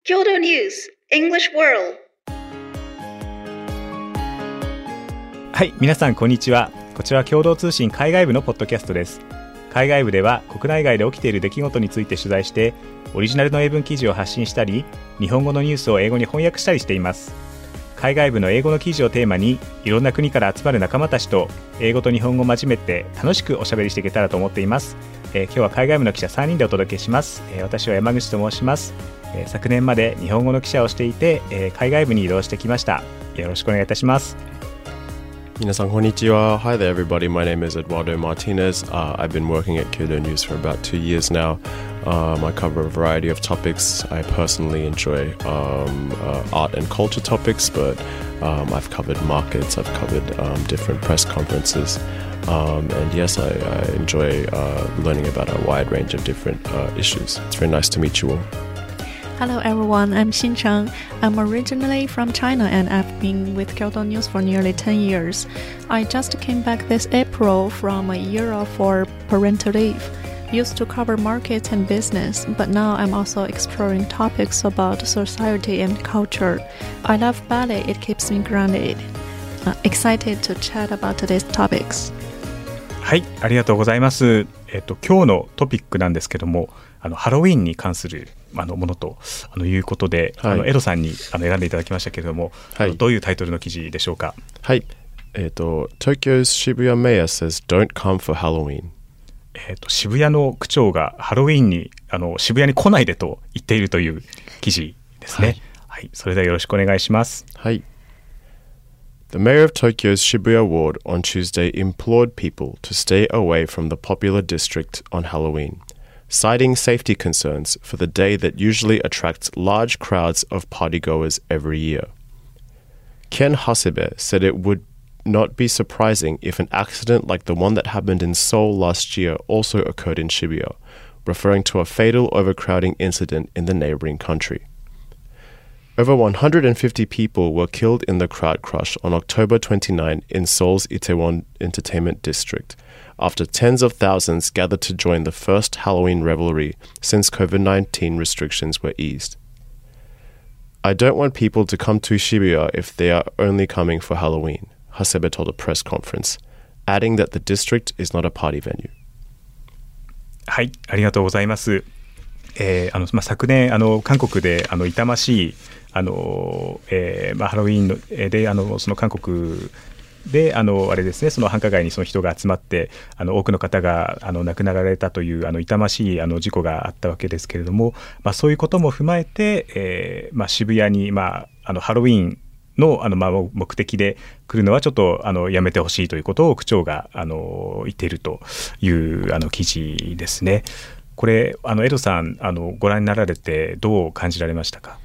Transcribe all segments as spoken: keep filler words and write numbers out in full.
Kyoto News English World。 はい、皆さんこんにちは。こちらは共同通信海外部のポッドキャストです。海外部では国内外で起きている出来事について取材してオリジナルの英文記事を発信したり、日本語のニュースを英語に翻訳したりしています。海外部の英語の記事をテーマにいろんな国から集まる仲間たちと英語と日本語を交えて楽しくおしゃべりしていけたらと思っています。えー、今日は海外部の記者さんにんでお届けします。えー、私は山口と申します。えー、昨年まで日本語の記者をしていて、えー、海外部に移動してきました。よろしくお願いいたします。 皆さんこんにちは。Hi there everybody, my name is Eduardo Martinez、uh, I've been working at Kyoto News for about two years now、um, I cover a variety of topics. I personally enjoy、um, uh, art and culture topics, but、um, I've covered markets, I've covered、um, different press conferences、um, and yes, I, I enjoy、uh, learning about a wide range of different、uh, issues. It's very nice to meet you all.Hello everyone, I'm Xin Cheng. I'm originally from China and I've been with Kyoto News for nearly ten years. I just came back this April from a year off for parental leave. Used to cover markets and business, but now I'm also exploring topics about society and culture. I love ballet, it keeps me grounded. Uh, excited to chat about today's topics. はい、ありがとうございます。えっと、今日のトピックなんですけども、あのハロウィーンに関するあのものとあのいうことで、はい、あのエドさんにあの選んでいただきましたけれども、はい、どういうタイトルの記事でしょうか。 はい、えっと Tokyo's Shibuya Mayor says don't come for Halloween。 えっと渋谷の区長がハロウィーンにあの渋谷に来ないでと言っているという記事ですね。はい、はい、それではよろしくお願いします。 はい。The mayor of Tokyo's Shibuya ward on Tuesday implored people to stay away from the popular district on Halloween, citing safety concerns for the day that usually attracts large crowds of partygoers every year. Ken Hasebe said it would not be surprising if an accident like the one that happened in Seoul last year also occurred in Shibuya, referring to a fatal overcrowding incident in the neighboring country.Over one hundred fifty people were killed in the crowd crush on October twenty-ninth in Seoul's Itaewon Entertainment District, after tens of thousands gathered to join the first Halloween revelry since COVID nineteen restrictions were eased. I don't want people to come to Shibuya if they are only coming for Halloween, Hasebe told a press conference, adding that the district is not a party venue. はい、ありがとうございます。えーあのまあ、昨年あの韓国であの痛ましいあの、えーまあ、ハロウィーンのであのその韓国であのあれですね、その繁華街にその人が集まってあの多くの方があの亡くなられたというあの痛ましいあの事故があったわけですけれども、まあ、そういうことも踏まえて、えーまあ、渋谷に、まあ、あのハロウィーンの, あのまあ目的で来るのはちょっとあのやめてほしいということを区長があの言っているというあの記事ですね。これあのエドさんあのご覧になられてどう感じられましたか。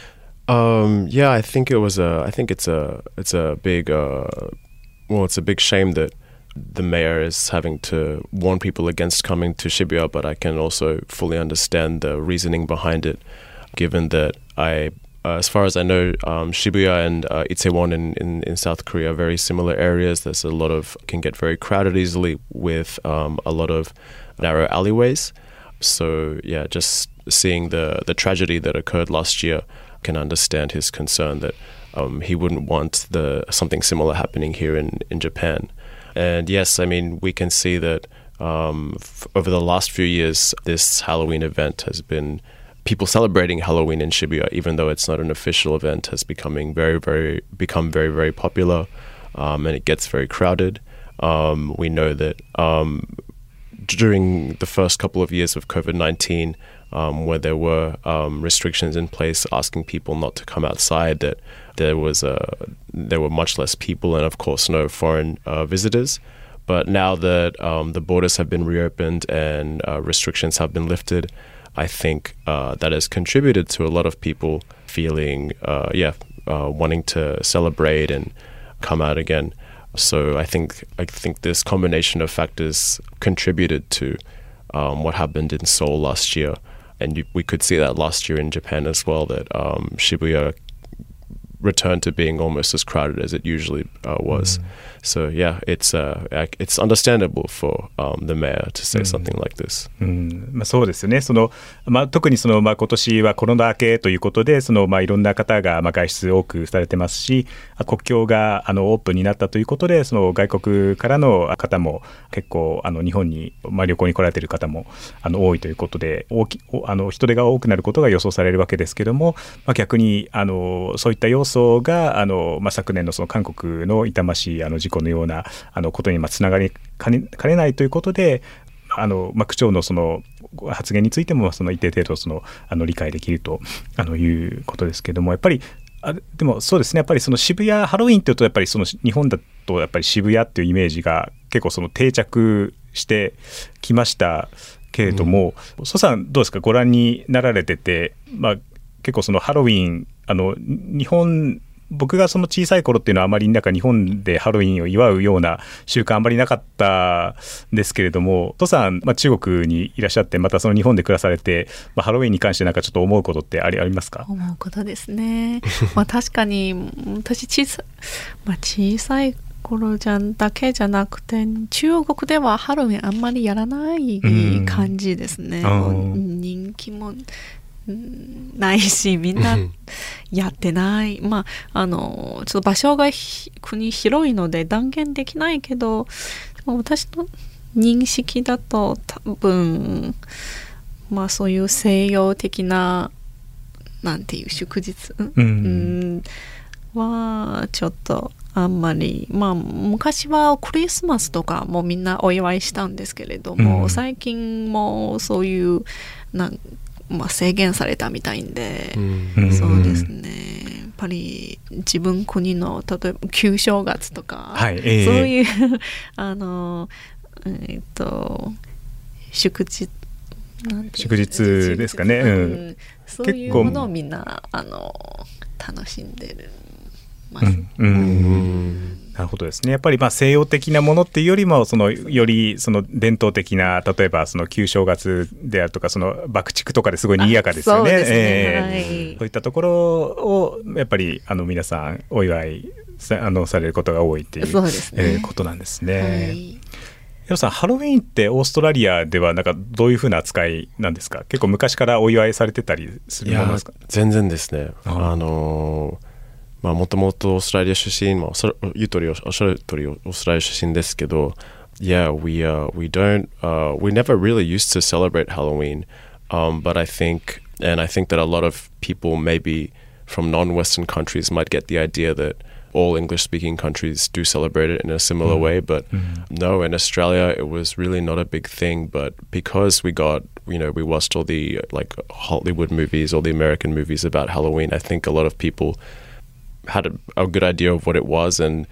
Um, yeah, I think it was a. I think it's a. It's a big. Uh, well, it's a big shame that the mayor is having to warn people against coming to Shibuya. But I can also fully understand the reasoning behind it, given that I, uh, as far as I know, um, Shibuya and uh, Itaewon in, in in South Korea are very similar areas. There's a lot of can get very crowded easily with um, a lot of narrow alleyways. So yeah, just seeing the the tragedy that occurred last year.Can understand his concern that um, he wouldn't want the something similar happening here in, in Japan. And yes, I mean, we can see that um, f- over the last few years, this Halloween event has been, people celebrating Halloween in Shibuya, even though it's not an official event, has becoming very, very, become very, very popular, um, and it gets very crowded. Um, we know that um, during the first couple of years of COVID nineteen,Um, where there were um, restrictions in place asking people not to come outside, that there was a, there were much less people and of course no foreign uh, visitors. But now that um, the borders have been reopened and uh, restrictions have been lifted, I think uh, that has contributed to a lot of people feeling, uh, yeah, uh, wanting to celebrate and come out again. So I think I think this combination of factors contributed to um, what happened in Seoul last year.And you, we could see that last year in Japan as well, that um, Shibuya return to being almost as crowded as it usually uh, was. Mm. So yeah, it's uh, it's understandable for um, the mayor to say something like this. うん、まあ、そうですよね。そのまあ、特にその、まあ、今年はコロナ明けということで、その、まあ、いろんな方が、まあ、外出多くされてますし、国境があのオープンになったということで、その外国からの方も結構あの日本に、まあ、旅行に来られている方もあの多いということで、大きあの人手が多くなることが予想されるわけですけども、まあ、逆にあのそういった要素があの、まあ、昨年のその韓国の痛ましいあの事故のようなあのことにまあつながりかね、かねないということで、あの、まあ、区長のその発言についてもその一定程度そのあの理解できるとあのいうことですけども、やっぱりあでもそうですね、やっぱりその渋谷ハロウィンというとやっぱりその日本だとやっぱり渋谷っていうイメージが結構その定着してきましたけれども、うん、蘇さんどうですか、ご覧になられてて、まあ、結構そのハロウィンあの日本僕がその小さい頃っていうのはあまりなんか日本でハロウィンを祝うような習慣あまりなかったんですけれども、蘇さん、まあ、中国にいらっしゃってまたその日本で暮らされて、まあ、ハロウィンに関してなんかちょっと思うことってあり、ありますか？ 思うことですね。まあ確かに私小さ、まあ、小さい頃じゃだけじゃなくて中国ではハロウィンあんまりやらない感じですね。うん、人気もないしみんなやってない。まああのちょっと場所が国広いので断言できないけど、私の認識だと多分まあそういう西洋的ななんていう祝日、うん、はちょっとあんまり、まあ昔はクリスマスとかもみんなお祝いしたんですけれども、うん、最近もそういうなんまあ、制限されたみたいんで、うん、そうですね、やっぱり自分国の例えば旧正月とか、はいえー、そういうあの、えー、っと祝日なんて祝日ですかね、うん、 そういうものをみんなあの楽しんでるます、 うんうんなるほどですね。やっぱりまあ西洋的なものっていうよりもそのよりその伝統的な例えばその旧正月であるとかその爆竹とかですごい賑やかですよね。そうですね、えーはい、そういったところをやっぱりあの皆さんお祝いさ、あのされることが多いっていう、そうですね、えー、ことなんですね。はい、ヒロさん、ハロウィーンってオーストラリアではなんかどういうふうな扱いなんですか？結構昔からお祝いされてたりするものですか？ いや全然ですね。あのーまあもともとオーストラリア出身、まあ、言う通りおっしゃる通りオーストラリア出身ですけど、Yeah, we uh, we don't uh, we never really used to celebrate Halloween, um, but I think and I think that a lot of people maybe from non-Western countries might get the idea that all English-speaking countries do celebrate it in a similar mm. way, but mm. no, in Australia it was really not a big thing. But because we got, you know, we watched all the like Hollywood movies, all the American movies about Halloween, I think a lot of people had a, a good idea of what it was, and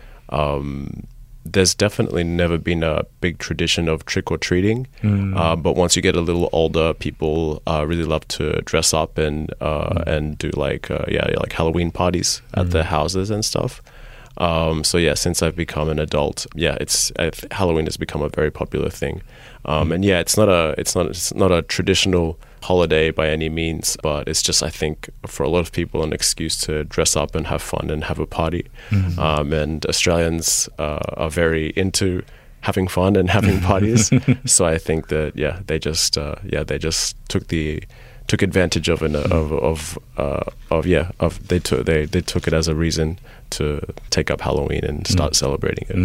um, there's definitely never been a big tradition of trick-or-treating, mm. uh, but once you get a little older, people uh, really love to dress up and uh, mm. and do like uh, yeah like Halloween parties at mm. their houses and stuff. Um, so yeah, since I've become an adult, yeah, it's I've, Halloween has become a very popular thing, um, mm. and yeah, it's not a it's not it's not a traditional holiday by any means, but it's just I think for a lot of people an excuse to dress up and have fun and have a party. Mm-hmm. Um, and Australians uh, are very into having fun and having parties, so I think that yeah they just uh, yeah they just took the took advantage of an of of uh, of yeah of they took they they took it as a reason to take up Halloween and start celebrating it. うん、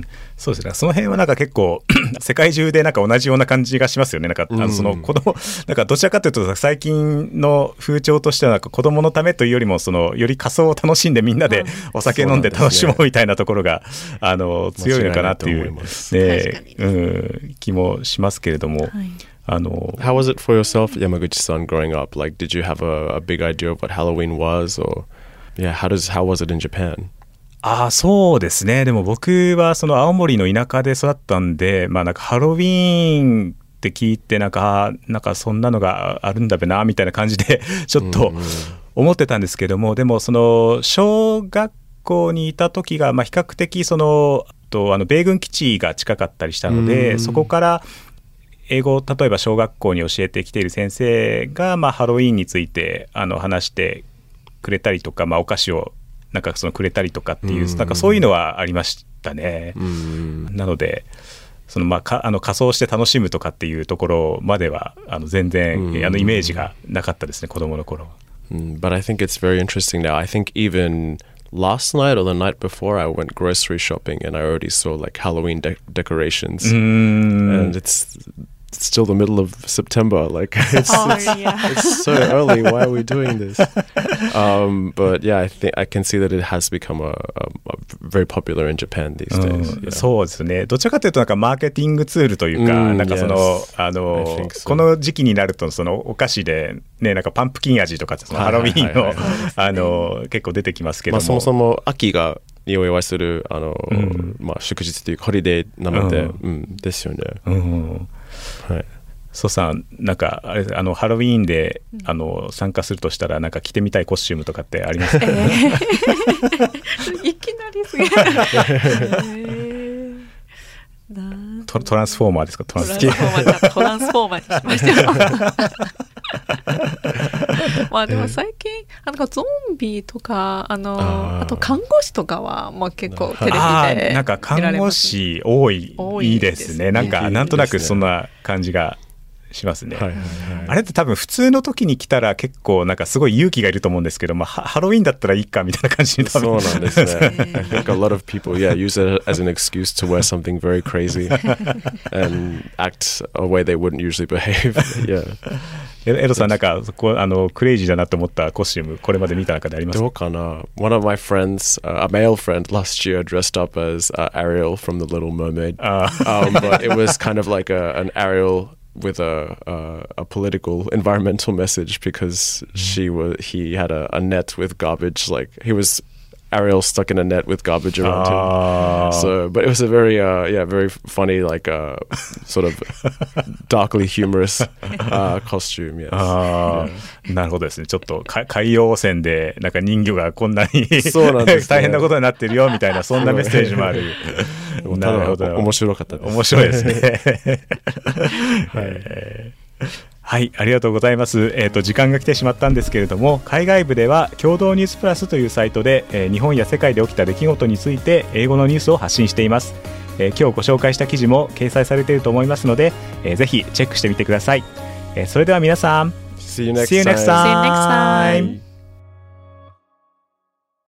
そうですね。その辺はなんか結構世界中でなんか同じような感じがしますよね。なんかあのその子供なんかどちらかというと最近の風潮としてはなんか子供のためというよりもそのより仮装を楽しんでみんなでお酒飲んで楽しもうみたいなところがあの強いのかなっていうね、うん、気もしますけれども。はいあの How was it for yourself, Yamaguchi-san, growing up? Like, did you have a, a big idea of what Halloween was, or yeah, how does how was it in Japan? ああそうですね。でも僕はその青森の田舎で育ったんで、まあなんかハロウィーンって聞いてなんかなんかそんなのがあるんだべなみたいな感じでちょっと思ってたんですけども、でもその小学校にいた時がまあ比較的そのとあの米軍基地が近かったりしたので、そこから英語を例えば小学校に教えてきている先生が、まあ、ハロウィーンについてあの話してくれたりとか、まあ、お菓子をなんかそのくれたりとかっていう、うん、なんかそういうのはありましたね、うん、なのでそのまあかあの仮装して楽しむとかっていうところまではあの全然、うん、あのイメージがなかったですね、子供の頃。 Mm, but I think it's very interesting now. I think even last night or the night before, I went grocery shopping and I already saw like Halloween de- decorations. Mm. And it's, it's still the middle of September. Like it's, oh, it's, yeah. it's so early. Why are we doing this? Um, but yeah, I think I can see that it has become a, a, a very popular in Japan these days. Yeah. そうですね。どちらかというとなんかマーケティングツールというか、mm, なんかその、yes. あの so. この時期になるとそのお菓子でね、なんかパンプキン味とかそのハロウィーンのあの結構出てきますけども、まあ、そもそも秋がにお祝いするあの、うん、まあ祝日というかホリデーなので、うんうん、ですよね。うん、 はい。ソさんなんかあれあのハロウィーンで、うん、あの参加するとしたらなんか着てみたいコスチュームとかってありますか？えー、いきなりすぎる。えー、 ト, トランスフォーマーですか？トランスフォーマートランスフォーマーにしました。まあでも最近なんかゾンビとかあの あ, あと看護師とかはまあ結構テレビであなんか看護師多いいいですね。なんかなんとなくそんな感じがしますね、はいはいはい、あれって多分普通の時に来たら結構なんかすごい勇気がいると思うんですけど、まあ、ハロウィンだったらいいかみたいな感じに多分そうなんですね。I think a lot of people yeah use it as an excuse to wear something very crazy and act a way they wouldn't usually behave. Yeah. エドさんなんかそこあのクレイジーだなと思ったコスチュームこれまで見た中でありますか？ どうかな。 One of my friends、uh, a male friend last year dressed up as、uh, Ariel from The Little Mermaid、um, but it was kind of like a, an Ariel with a, uh, a political environmental message because she was he had a, a net with garbage, like he was Ariel stuck in a net with garbage around oh. him. So, but it was a very, uh, yeah, very funny, like, uh, sort of darkly humorous uh, costume. Yes. あー、なるほどですね。ちょっと海洋汚染でなんか人魚がこんなにそうなんです、ね、大変なことになってるよみたいなそんなメッセージもある。 なるほど。面白かったです。 面白いですね。はい。はい、ありがとうございます。えーと、時間が来てしまったんですけれども、海外部では共同ニュースプラスというサイトで、えー、日本や世界で起きた出来事について英語のニュースを発信しています。えー、今日ご紹介した記事も掲載されていると思いますので、えー、ぜひチェックしてみてください。えー、それでは皆さん See you next time. See you next time.